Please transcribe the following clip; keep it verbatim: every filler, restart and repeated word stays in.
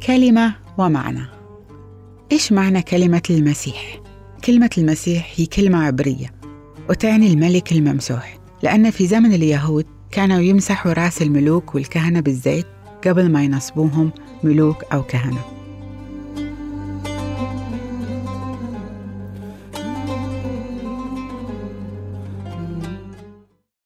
كلمة ومعنى. إيش معنى كلمة المسيح؟ كلمة المسيح هي كلمة عبرية وتعني الملك الممسوح، لأن في زمن اليهود كانوا يمسحوا رأس الملوك والكهنة بالزيت قبل ما ينصبوهم ملوك أو كهنة.